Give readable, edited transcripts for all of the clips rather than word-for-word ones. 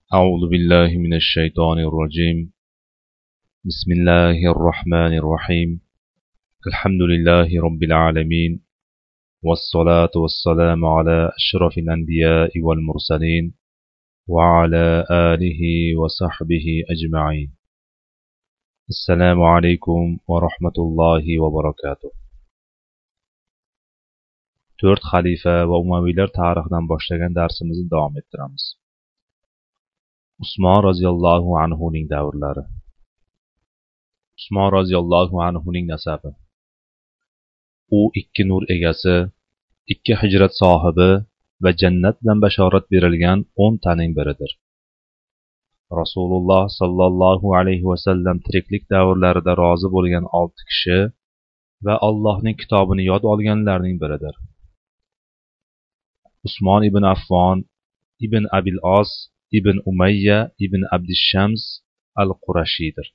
أعوذ بالله من الشيطان الرجيم. بسم الله الرحمن الرحيم. الحمد لله رب العالمين، والصلاة والسلام على أشرف الأنبياء والمرسلين وعلى آله وصحبه أجمعين. السلام عليكم ورحمة الله وبركاته. 4 xalifa va umaviylar tarixidan boshlagan darsimizni davom ettiramiz. Usmon roziyallohu anhuning davrlari. Usmon roziyallohu anhuning nasabi. U 2 nur egasi, 2 hijrat sohibi va jannat bilan bashorat berilgan 10 taning biridir. Rasululloh sallallohu alayhi vasallam tiriklik davrlarida rozi bo'lgan 6 kishi va Allohning kitobini yod olganlarning biridir. Usmon ibn Affon ibn Abil As ibn Umayya ibn Abdishams al-Qurashiydir.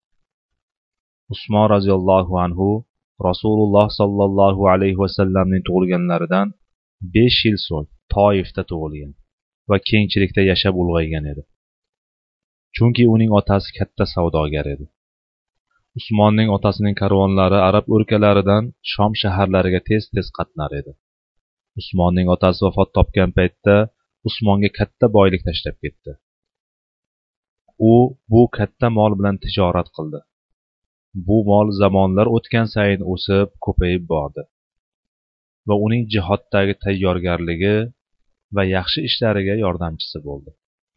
Usmon roziyallohu anhu Rasululloh sallallohu alayhi vasallamning tug'ilganlaridan 5 yil so'ng Toifda tug'ilgan va kengchilikda yashab ulg'aygan edi. Chunki uning otasi katta savdogar edi. Usmonning otasining karvonlari arab o'lkalaridan Shom shaharlariga tez-tez qatnar edi. Usmonning otasi vafot topgan paytda Usmonga katta boylik tashlab ketdi. U bu katta mol bilan tijorat qildi. Bu mol zamonlar o'tgan sayin o'sib, ko'payib bordi va uning jihoddagi tayyorgarligi va yaxshi ishlariga yordamchisi bo'ldi.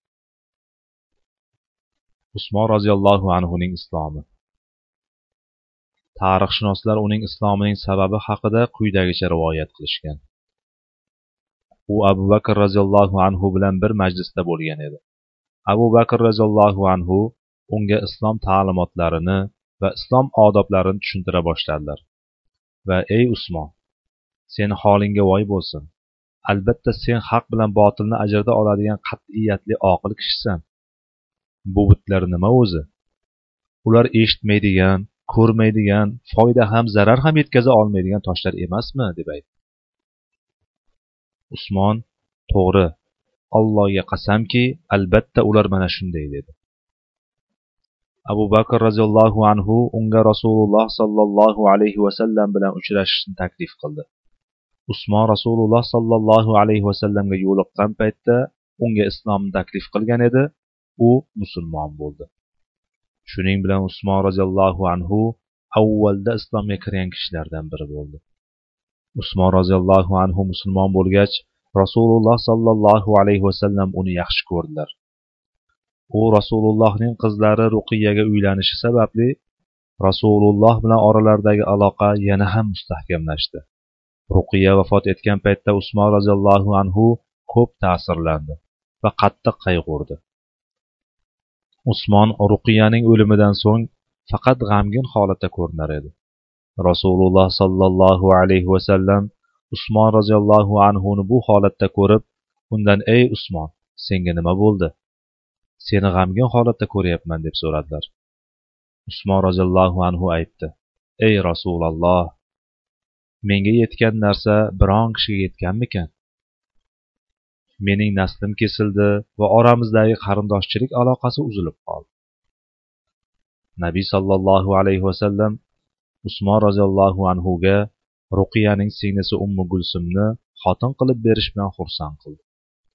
Usmon roziyallohu anhuning islomi. Tarixshunoslar uning islomining sababi haqida quyidagicha rivoyat qilishgan. U Abu Bakr roziyallohu anhu bilan bir majlisda bo'lgan edi. Abu Bakr roziyallohu anhu unga islom ta'limotlarini va islom odoblarini tushuntira boshladilar. Va ey Usmon, seni holingga voy bo'lsin. Albatta sen haq bilan botilni ajrata oladigan qat'iyatli oqil kishisan. Bu butlar nima o'zi? Ular eshitmaydigan, ko'rmaydigan, foyda ham zarar ham yetkaza olmaydigan toshlar emasmi deb aytdi. Usmon, to'g'ri, Allohga qasamki, albatta ular mana shunday dedi. Abu Bakr roziyallohu anhu unga Rasululloh sallallohu alayhi vasallam bilan uchrashishni taklif qildi. Usmon Rasululloh sallallohu alayhi vasallamga yo'liqqan paytda unga islomni taklif qilgan edi, u musulmon bo'ldi. Shuning bilan Usmon roziyallohu anhu avvalda islomga kirgan kishilardan biri bo'ldi. Usmon roziyallohu anhu musulmon bo'lgach, Rasululloh sallallohu alayhi vasallam uni yaxshi ko'rdilar. U Rasulullohning qizlari Ruqiyaga uylanishi sababli Rasululloh bilan oralaridagi aloqa yana ham mustahkamlashdi. Ruqiya vafot etgan paytda Usmon roziyallohu anhu ko'p ta'sirlandi va qattiq qayg'urdi. Usmon Ruqiyaning o'limidan so'ng faqat g'amgin holatda ko'rinar edi. Rasululloh sallallohu alayhi vasallam Usmon roziyallohu anhuni bu holatda ko'rib, undan ey Usmon, senga nima bo'ldi? Seni g'amgin holatda ko'ryapman deb so'radilar. Usmon roziyallohu anhu aytdi: Ey Rasululloh, menga yetgan narsa biron kishiga yetganmikan? Mening naslim kesildi va oramizdagi qarindoshchilik aloqasi uzilib qoldi. Nabiy sallallohu alayhi vasallam Usmon roziyallohu anhuga Ruqiyaning singlisi Ummu Gulsumni xotin qilib berish bilan xursand qildi.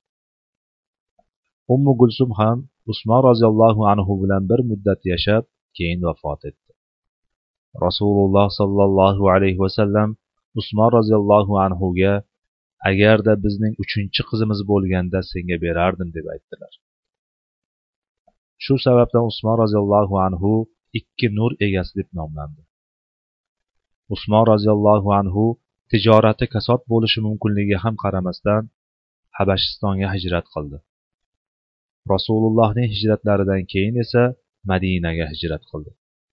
Ummu Gulsum ham Usmon roziyallohu anhu bilan bir muddat yashab, keyin vafot etdi. Rasululloh sallallohu alayhi vasallam Usmon roziyallohu anhuga agarda bizning 3-chi qizimiz bo'lganda senga berardim deb aytdilar. Shu sababdan Usmon roziyallohu anhu 2 nur egasi deb nomlandi. Usmon roziyallohu anhu tijorati kasod bo'lishi mumkinligiga ham qaramasdan Habashistonga hijrat qildi. Rasulullohning hijratlaridan keyin esa Madinaga hijrat qildi.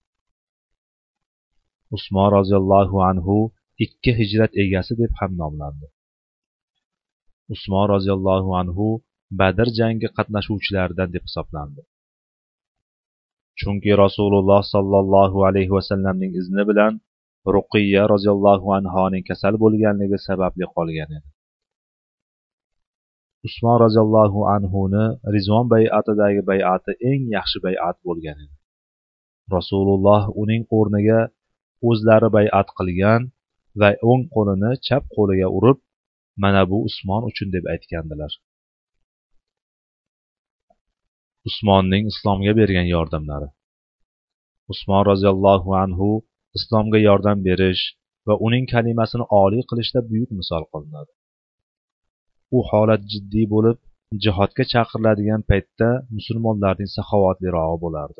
Usmon roziyallohu anhu 2 hijrat egasi deb ham nomlandi. Usmon roziyallohu anhu Badr jangi qatnashuvchilaridan deb hisoblandi. Chunki Rasululloh sallallohu alayhi vasallamning izni bilan Ruqiyya roziyallohu anhoning kasal bo'lganligi sababli qolgan edi. Usmon roziyallohu anhuni Rizvon bay'atidagi bay'ati eng yaxshi bay'at bo'lgan edi. Rasululloh uning o'rniga o'zlari bay'at qilgan va o'ng qo'lini chap qo'liga urib, mana bu Usmon uchun deb aytgandilar. Usmonning islomga bergan yordamlari. Usmon roziyallohu anhu islomga yordam berish va uning kalimasini oliy qilishda buyuk misol qilinadi. U holat jiddiy bo'lib, jihodga chaqiriladigan paytda musulmonlarning saxovatlirog'i bo'lardi.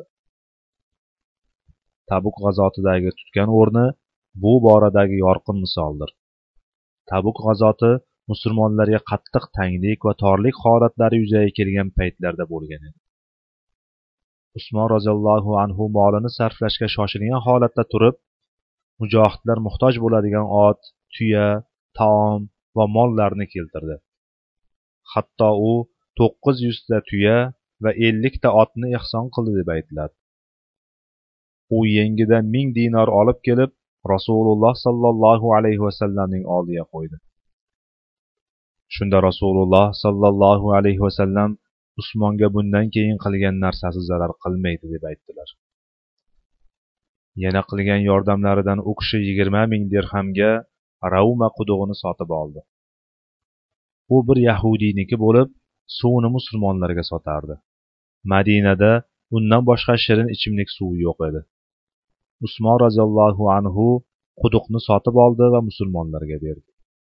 Tabuk g'azotidagi tutgan o'rni bu boradagi yorqin misoldir. Tabuk g'azoti musulmonlarga qattiq tanglik va torlik holatlari yuzaga kelgan paytlarda bo'lgan edi. Usmon roziyallohu anhu molini sarflashga shoshilgan holatda turib, mujohidlar muhtoj bo'ladigan ot, tuya, taom va mollarni keltirdi. Hatto u 900 ta tuya va 50 ta otni ihson qildi deb aytiladi. U yengidan 1000 dinor olib kelib, Rasululloh sallallohu alayhi vasallamning oldiga qo'ydi. Shunda Rasululloh sallallohu alayhi vasallam Usmonga bundan keyin qilgan narsasi zarar qilmaydi deb aytdilar. Yana qilgan yordamlaridan u kishi 20,000 dirhamga Rauma qudug'ini sotib oldi. U bir yahudiyniki bo'lib, suvni musulmonlarga sotardi. Madinada undan boshqa shirin ichimlik suvi yo'q edi. Usmon roziyallohu anhu quduqni sotib oldi va musulmonlarga berdi.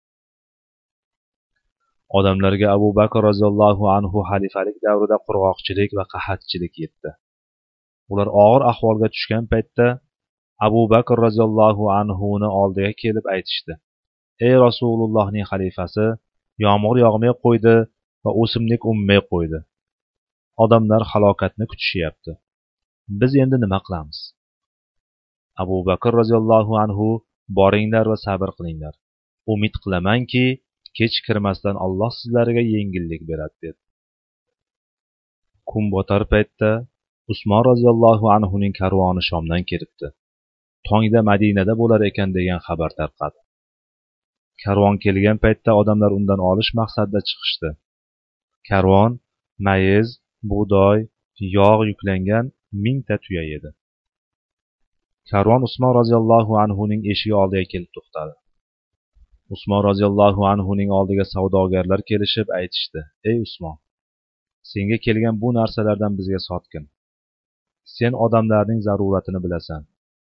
Odamlarga Abu Bakr roziyallohu anhu xalifalik davrida qurg'oqchilik va qahatchilik yetdi. Ular og'ir ahvolga tushgan paytda Abu Bakr roziyallohu anhuni oldiga kelib aytishdi: "Ey Rasulullohning xalifasi, yomg'ir yog'may qo'ydi va o'simlik unmay qo'ydi. Odamlar halokatni kutishyapti. Biz endi nima qilamiz?" Abu Bakr roziyallohu anhu: "Boringlar va sabr qilinglar. Umid qilamanki, kech kirmasdan Alloh sizlarga yengillik beradi" dedi. Kun botar paytda Usmon roziyallohu anhuning karvoni Shomdan kelibdi. Tongda Madinada bo'lar ekan degan xabar tarqadi. Karvon kelgan paytda odamlar undan olish maqsadida chiqishdi. Karvon mayiz, bug'doy, yog' yuklangan 1000 ta tuya edi. Karvon Usmon roziyallohu anhuning eshigi oldiga kelib to'xtadi. Usmon roziyallohu anhuning oldiga savdogarlar kelishib aytishdi: "Ey Usmon, senga kelgan bu narsalardan bizga sotgin. Sen odamlarning zaruratini bilasan."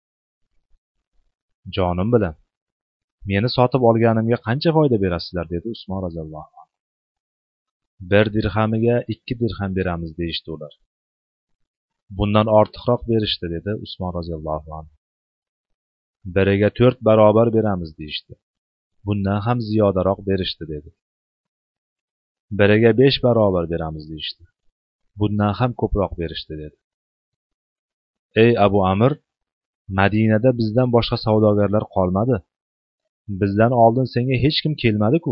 "Jonim bilan, meni sotib olganimga qancha foyda berasizlar?" dedi Usmon roziyallohu anhu. "1 dirhamiga 2 dirham beramiz" deyishdi ular. "Bundan ortiqroq berishdi" dedi Usmon roziyallohu anhu. "Biriga 4 barobar beramiz" deyishdi. "Bundan ham ziyodaroq berishdi" dedi. "Biriga 5 barobar beramiz" deyishdi. "Bundan ham ko'proq berishdi" dedi. "Ey Abu Amr, Madinada bizdan boshqa savdogarlar qolmadi. Bizdan oldin senga hech kim kelmadi-ku.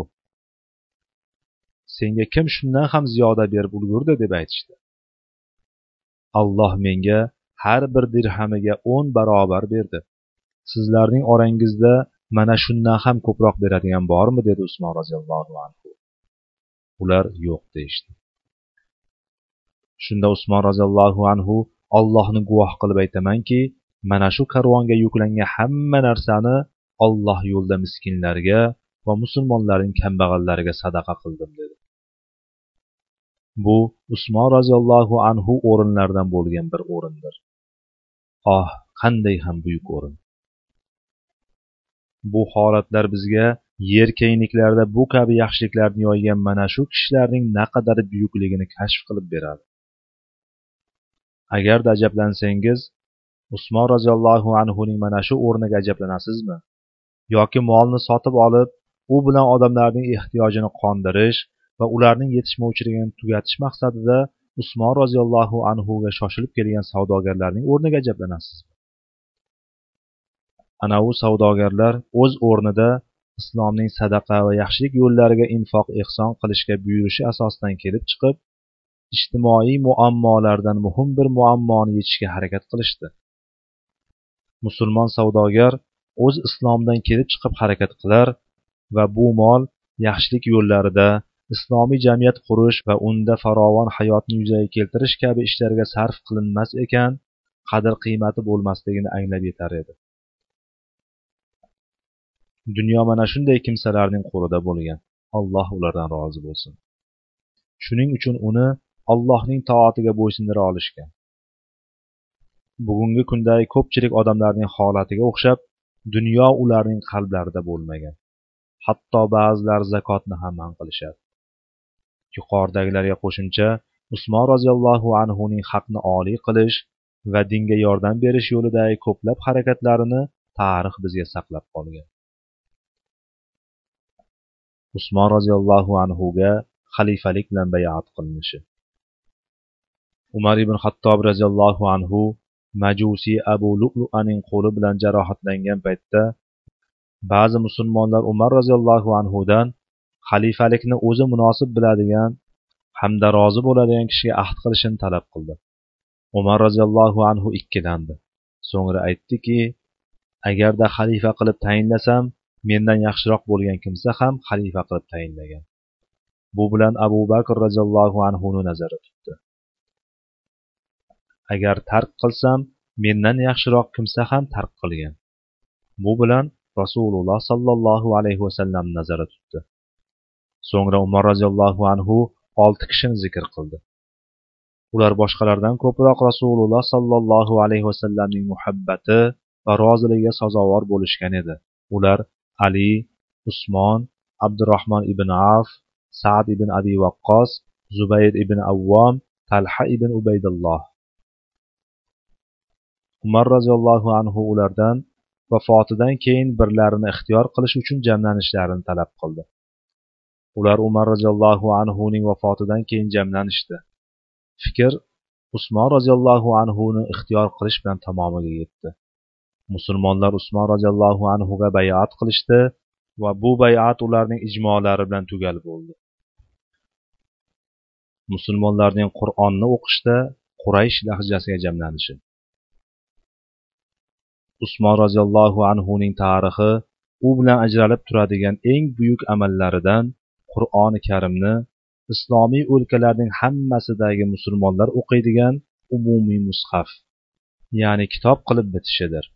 Senga kim shundan ham ziyoda berib ulgurdi?" deb aytishdi. "Alloh menga har bir dirhamiga 10 barobar berdi. Sizlarning orangizda mana shundan ham ko'proq beradigan bormi?" dedi Usmon roziyallohu anhu. Ular yo'q deyishdi. Shunda Usmon roziyallohu anhu: "Allohni guvoh qilib aytamanki, mana shu karvonga yuklangan hamma narsani Alloh yo'lida miskinlarga va musulmonlarning kambag'allariga sadaqa qildim" dedi. Bu Usmon roziyallohu anhu o'rinlaridan bo'lgan bir o'rindir. Oh, qanday ham buyuk o'rin! Bu holatlar bizga yer kengliklarida bu kabi yaxshiliklarni yoygan mana shu kishilarning naqadar buyukligini kashf qilib beradi. Agarda ajablansangiz, Usmon roziyallohu anhuning mana shu o'rniga ajablanasizmi? Yoki molni sotib olib, u bilan odamlarning ehtiyojini qondirish va ularning yetishmovchiligini tugatish maqsadida Usmon roziyallohu anhuga shoshilib kelgan savdogarlarning o'rniga ajablanasizmi? Ana u savdogarlar o'z o'rnida islomning sadaqa va yaxshilik yo'llariga infoq ehson qilishga buyurishi asosidan kelib chiqib, ijtimoiy muammolardan muhim bir muammoni yechishga harakat qilishdi. Musulmon savdogar o'z islomdan kelib chiqib harakat qilar va bu mol yaxshilik yo'llarida islomiy jamiyat qurish va unda farovon hayotni yuzaga keltirish kabi ishlarga sarf qilinmas ekan, qadr qiymati bo'lmasligini anglab yetar edi. Dunyo mana shunday kimsalarning qo'lida bo'lgan. Alloh ulardan rozi bo'lsin. Shuning uchun uni Allohning toatiga bo'ysundira olishgan. Bugungi kundagi ko'pchilik odamlarning holatiga o'xshab, dunyo ularning qalblarida bo'lmagan. Hatto ba'zilar zakotni ham man qilishadi. Yuqoridagilarga qo'shimcha Usmon roziyallohu anhuning haqni oliy qilish va dinga yordam berish yo'lidagi ko'plab harakatlarini tarix bizga saqlab qolgan. Usmon roziyallohu anhuga xalifalik bilan bay'at qilinishi. Umar ibn Xattob roziyallohu anhu Majusi Abu Lu'lu'aning qo'li bilan jarohatlangan paytda ba'zi musulmonlar Umar roziyallohu anhudan xalifalikni o'zi munosib biladigan hamda rozi bo'ladigan kishiga ahd qilishini talab qildi. Umar roziyallohu anhu ikkilandi. So'ngra aytdiki, agarda xalifa qilib tayinlasam, mendan yaxshiroq bo'lgan kimsa ham xalifa qilib tayinlagan. Bu bilan Abu Bakr roziyallohu anhuni nazarda tutdi. Agar tark qilsam, mendan yaxshiroq kimsa ham tark qilgan. Bu bilan Rasululloh sallallohu alayhi vasallam nazarda tutdi. So'ngra Umar roziyallohu anhu 6 kishini zikr qildi. Ular boshqalardan ko'proq Rasululloh sallallohu alayhi vasallamning muhabbati va roziligiga sazovor bo'lishgan edi. Ular Ali, Usmon, Abdurrahmon ibn Avf, Sa'd ibn Abi Waqqos, Zubayr ibn Awwam, Talha ibn Ubaydulloh. Umar roziyallohu anhu ulardan vafotidan keyin birlarini ixtiyor qilish uchun jamlanishlarini talab qildi. Ular Umar roziyallohu anhuning vafotidan keyin jamlanishdi. Fikr Usmon roziyallohu anhuni ixtiyor qilish bilan tamomiga yetdi. Musulmonlar Usmon roziyallohu anhuga bay'at qilishdi va bu bay'at ularning ijmolari bilan tugal bo'ldi. Musulmonlarning Qur'onni o'qishda Quraysh lahjasiga jamlanishi. Usmon roziyallohu anhuning tarixi u bilan ajralib turadigan eng buyuk amallaridan Qur'oni Karimni islomiy o'lkalarning hammasidagi musulmonlar o'qiydigan umumiy mushaf, ya'ni kitob qilib bitishidir.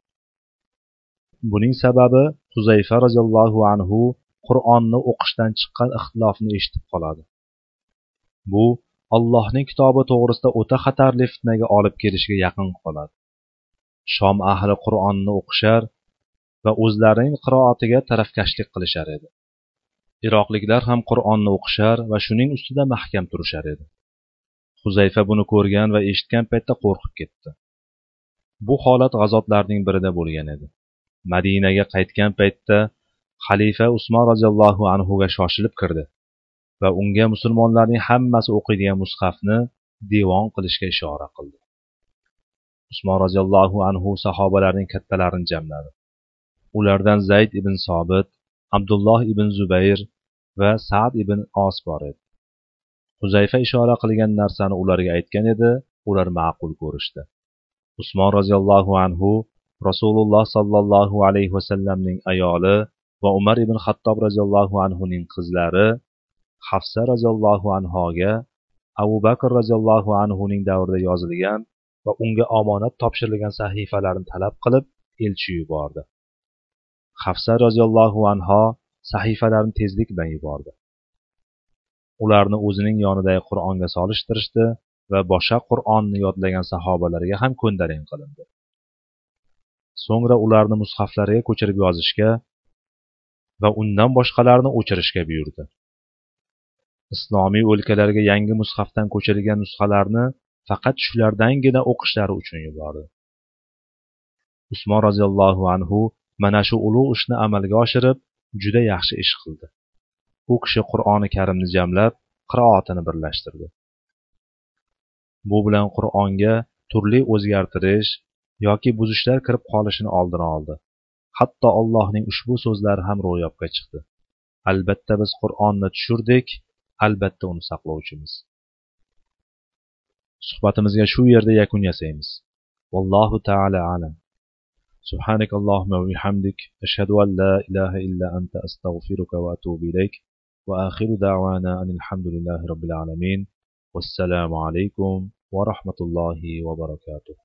Buning sababi Huzayfa roziyallohu anhu Qur'onni o'qishdan chiqqan ixtilofni eshitib qoladi. Bu Allohning kitobi to'g'risida o'ta xatarli fitnaga olib kelishiga yaqin qoladi. Shom ahli Qur'onni o'qishar va o'zlarining qiroatiga tarafkashlik qilishar edi. Iroqliklar ham Qur'onni o'qishar va shuning ustida mahkam turishar edi. Huzayfa buni ko'rgan va eshitgan paytda qo'rqib ketdi. Bu holat g'azotlarning birida bo'lgan edi. Madinaga qaytgan paytda xalifa Usmon roziyallohu anhuga shoshilib kirdi va unga musulmonlarning hammasi o'qiydigan mushafni devon qilishga ishora qildi. Usmon roziyallohu anhu sahobalarning kattalarini jamladi. Ulardan Zayd ibn Sobit, Abdulloh ibn Zubayr va Sa'd ibn Os bor edi. Huzayfa ishora qilgan narsani ularga aytgan edi, ular ma'qul ko'rishdi. Usmon roziyallohu anhu Rasululloh sallallohu alayhi vasallamning ayoli va Umar ibn Xattob roziyallohu anhuning qizlari Hafsa roziyallohu anhoga Abu Bakr roziyallohu anhuning davrida yozilgan va unga omonat topshirilgan sahifalarni talab qilib elchi yubordi. Hafsa roziyallohu anho sahifalarni tezlik bilan yubordi. Ularni o'zining yonidagi Qur'onga solishtirishdi va boshqa Qur'onni yodlagan sahobalarga ham ko'ndalang qilindi. So'ngra ularni mushaflarga ko'chirib yozishga va undan boshqalarni o'chirishga buyurdi. Islomiy o'lkalarga yangi mushafdan ko'chirilgan nusxalarni faqat shulardangina o'qishlari uchun yubordi. Usmon roziyallohu anhu mana shu ulug' ishni amalga oshirib, juda yaxshi ish qildi. U kishi Qur'oni Karimni jamlab, qiroatini birlashtirdi. Bu bilan Qur'onga turli o'zgartirish yoki buzishlar kirib qolishini oldini oldi. Hatto Allohning ushbu so'zlari ham ro'yobga chiqdi. Albatta biz Qur'onni tushirdik, albatta uni saqlovchimiz. Suhbatimizga shu yerda yakun yasaymiz. Vallohu ta'ala alam. Subhanakallahumma va bihamdik ashhadu an la ilaha illa anta astaghfiruka va atubu ilayk. وآخر دعوانا أن الحمد لله رب العالمين والسلام عليكم ورحمة الله وبركاته.